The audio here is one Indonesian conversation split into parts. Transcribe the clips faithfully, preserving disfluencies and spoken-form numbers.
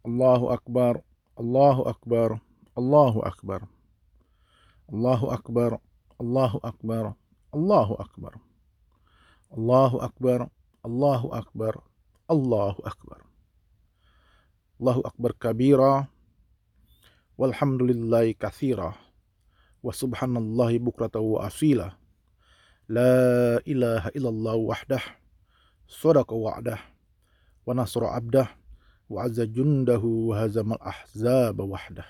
Allahu Akbar, Allahu Akbar, Allahu Akbar, Allahu Akbar, Allahu Akbar, Allahu Akbar, Allahu Akbar, Allahu Akbar, Allahu Akbar, Allahu Akbar kabira, walhamdulillahi katsira, wa subhanallahi bukrata wa asila, la ilaha illallah wahdah, sadaqa wa'dah, wa nasra abdah, wa azza jundahu wa hazamal ahzaba wahdah.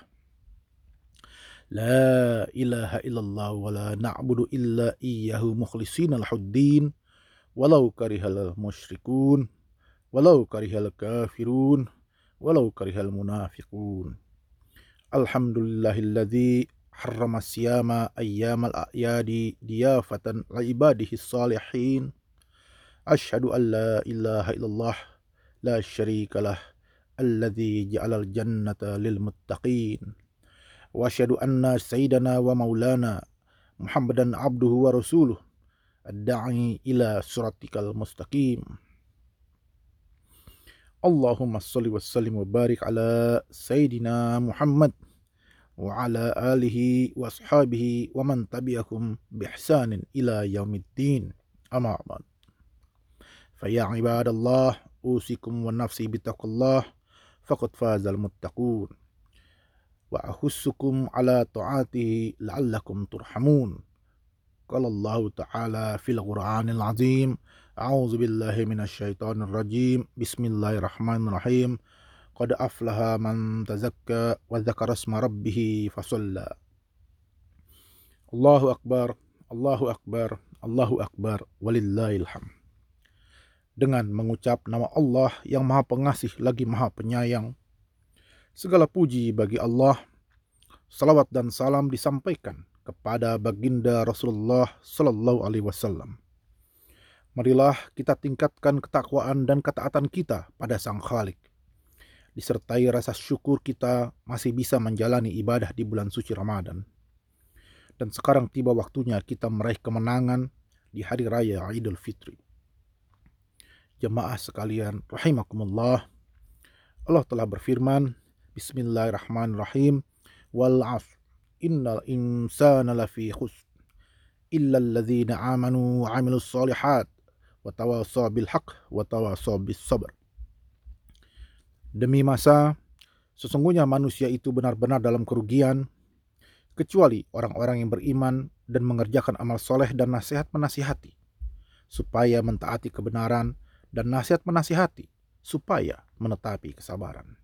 La ilaha illallah wa la na'budu illa iyyahu mukhlishina lahuddin walau karihal musyrikun walau karihal kafirun walau karihal munafiqun. Alhamdulillahilladzi harrama siyama ayyamal a'yadi diyafatan li ibadihi salihin. Asyhadu an la ilaha illallah la syarikalah alladzi ja'alal jannata lil muttaqin. Wa asyhadu anna sayyidana wa maulana Muhammadan abduhu wa rasuluh ad-da'i ila siratikal mustaqim. Allahumma shalli wa sallim wa barik ala sayyidina Muhammad wa ala alihi wa ashabihi wa man tabi'ahum bi ihsanin ila yaumiddin. Amma ba'd. Fa ya ibadallah usikum wa nafsi bittaqullah faqad fazal muttaqun. Wa ahussukum ala ta'atihi la'allakum turhamun. Qala Allah Ta'ala fil Qur'anil Azim. A'udzu billahi minasyaitonir rajim. Bismillahirrahmanirrahim. Qad aflaha man tazakka wa dzakara isma rabbih fasalla. Allahu akbar, Allahu akbar, Allahu akbar, walillahil hamd. Dengan mengucap nama Allah yang Maha Pengasih lagi Maha Penyayang, segala puji bagi Allah. Salawat dan salam disampaikan kepada baginda Rasulullah Sallallahu Alaihi Wasallam. Marilah kita tingkatkan ketakwaan dan ketaatan kita pada Sang Khalik, disertai rasa syukur kita masih bisa menjalani ibadah di bulan suci Ramadan. Dan sekarang tiba waktunya kita meraih kemenangan di hari raya Idul Fitri. Jemaah sekalian rahimakumullah, Allah telah berfirman, Bismillahirrahmanirrahim, wal 'ashr innal insana lafi khusr illal ladzina amanu wa 'amilus shalihat wa tawassaw bil haqq wa tawassaw bis sabr. Demi masa, sesungguhnya manusia itu benar-benar dalam kerugian, kecuali orang-orang yang beriman dan mengerjakan amal soleh dan nasihat menasihati, supaya mentaati kebenaran, dan nasihat menasihati, supaya menetapi kesabaran.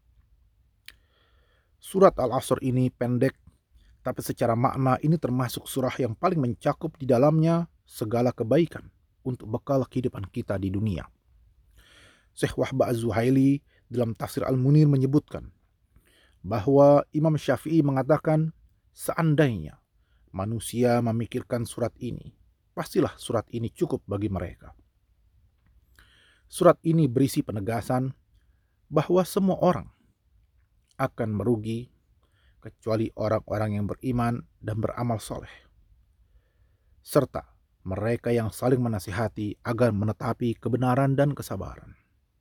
Surat Al-Asr ini pendek, tapi secara makna ini termasuk surah yang paling mencakup di dalamnya segala kebaikan untuk bekal kehidupan kita di dunia. Syekh Wahbah Az-Zuhaili dalam tafsir Al-Munir menyebutkan bahwa Imam Syafi'i mengatakan, seandainya manusia memikirkan surat ini, pastilah surat ini cukup bagi mereka. Surat ini berisi penegasan bahwa semua orang akan merugi kecuali orang-orang yang beriman dan beramal soleh, serta mereka yang saling menasihati agar menetapi kebenaran dan kesabaran.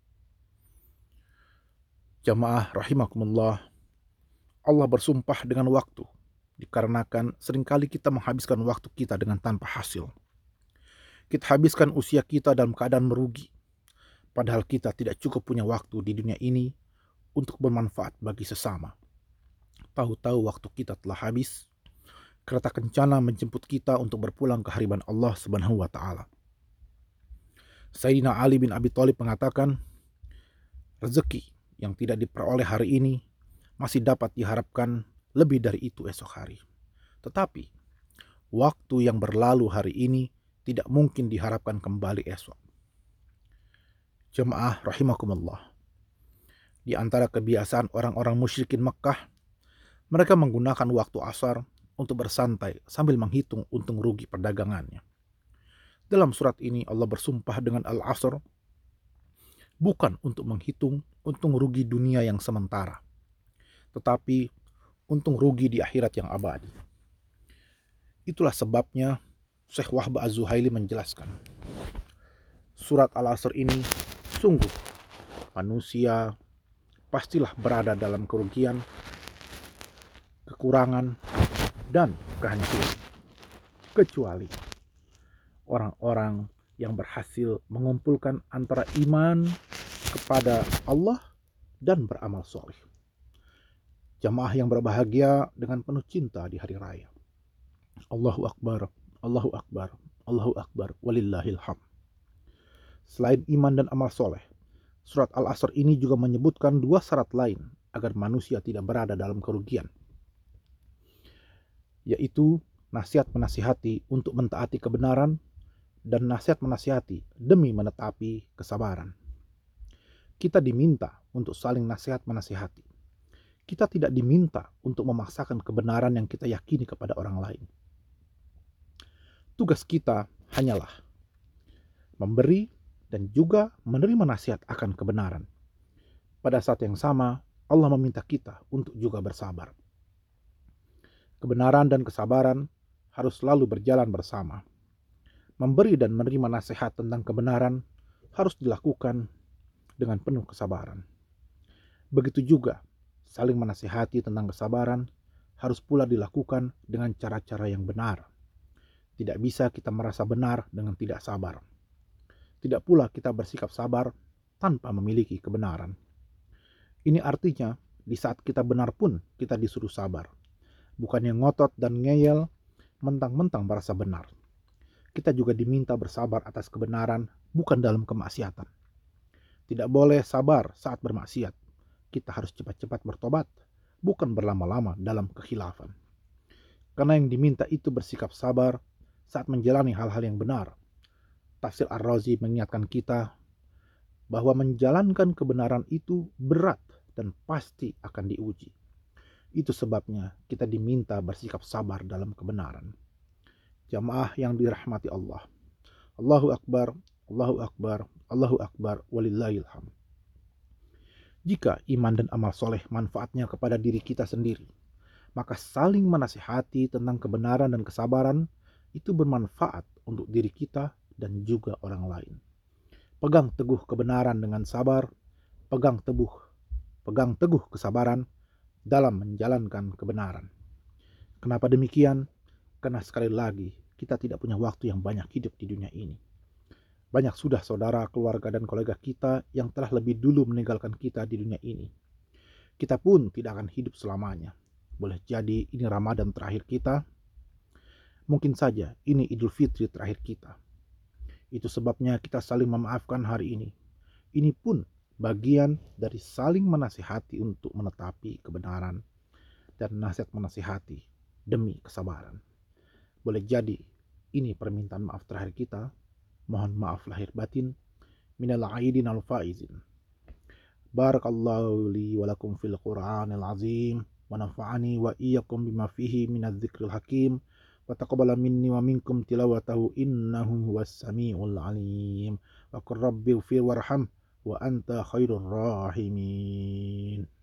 Jamaah rahimakumullah, Allah bersumpah dengan waktu, dikarenakan seringkali kita menghabiskan waktu kita dengan tanpa hasil. Kita habiskan usia kita dalam keadaan merugi, padahal kita tidak cukup punya waktu di dunia ini untuk bermanfaat bagi sesama. Tahu-tahu waktu kita telah habis, kereta kencana menjemput kita untuk berpulang ke hadirat Allah Subhanahu wa taala. Sayyidina Ali bin Abi Thalib mengatakan, rezeki yang tidak diperoleh hari ini masih dapat diharapkan lebih dari itu esok hari. Tetapi waktu yang berlalu hari ini tidak mungkin diharapkan kembali esok. Jemaah rahimakumullah, di antara kebiasaan orang-orang musyrikin Mekkah, mereka menggunakan waktu asar untuk bersantai sambil menghitung untung rugi perdagangannya. Dalam surat ini Allah bersumpah dengan Al-Asr, bukan untuk menghitung untung rugi dunia yang sementara, tetapi untung rugi di akhirat yang abadi. Itulah sebabnya Syekh Wahbah Az-Zuhaili menjelaskan, surat Al-Asr ini sungguh manusia pastilah berada dalam kerugian, kekurangan, dan kehancuran. Kecuali orang-orang yang berhasil mengumpulkan antara iman kepada Allah dan beramal soleh. Jamaah yang berbahagia dengan penuh cinta di hari raya. Allahu Akbar, Allahu Akbar, Allahu Akbar, walillahil hamd. Selain iman dan amal soleh, surat Al-Asr ini juga menyebutkan dua syarat lain agar manusia tidak berada dalam kerugian, yaitu nasihat menasihati untuk mentaati kebenaran dan nasihat menasihati demi menetapi kesabaran. Kita diminta untuk saling nasihat menasihati. Kita tidak diminta untuk memaksakan kebenaran yang kita yakini kepada orang lain. Tugas kita hanyalah memberi dan juga menerima nasihat akan kebenaran. Pada saat yang sama, Allah meminta kita untuk juga bersabar. Kebenaran dan kesabaran harus selalu berjalan bersama. Memberi dan menerima nasihat tentang kebenaran harus dilakukan dengan penuh kesabaran. Begitu juga saling menasihati tentang kesabaran harus pula dilakukan dengan cara-cara yang benar. Tidak bisa kita merasa benar dengan tidak sabar. Tidak pula kita bersikap sabar tanpa memiliki kebenaran. Ini artinya di saat kita benar pun kita disuruh sabar. Bukannya ngotot dan ngeyel mentang-mentang merasa benar. Kita juga diminta bersabar atas kebenaran, bukan dalam kemaksiatan. Tidak boleh sabar saat bermaksiat. Kita harus cepat-cepat bertobat, bukan berlama-lama dalam kekhilafan. Karena yang diminta itu bersikap sabar saat menjalani hal-hal yang benar. Tafsir Ar-Razi mengingatkan kita bahwa menjalankan kebenaran itu berat dan pasti akan diuji. Itu sebabnya kita diminta bersikap sabar dalam kebenaran. Jamaah yang dirahmati Allah. Allahu Akbar, Allahu Akbar, Allahu Akbar, walillahil hamd. Jika iman dan amal soleh manfaatnya kepada diri kita sendiri, maka saling menasihati tentang kebenaran dan kesabaran itu bermanfaat untuk diri kita dan juga orang lain. Pegang teguh kebenaran dengan sabar, pegang teguh, pegang teguh kesabaran dalam menjalankan kebenaran. Kenapa demikian? Karena sekali lagi kita tidak punya waktu yang banyak hidup di dunia ini. Banyak sudah saudara, keluarga, dan kolega kita yang telah lebih dulu meninggalkan kita di dunia ini. Kita pun tidak akan hidup selamanya. Boleh jadi ini Ramadan terakhir kita. Mungkin saja ini Idul Fitri terakhir kita. Itu sebabnya kita saling memaafkan hari ini. Ini pun bagian dari saling menasihati untuk menetapi kebenaran dan nasihat menasihati demi kesabaran. Boleh jadi ini permintaan maaf terakhir kita. Mohon maaf lahir batin. Minal aidin al faizin. Barakallahu li walakum fil Qur'anil azim. Wa nafa'ani wa iyyakum bima fihi minadz dzikril hakim. Wa taqabbala minni wa minkum tilawatahu innahu huwas samiul alim. Wa qur rabbi ighfir warham wa anta khairur rahimin.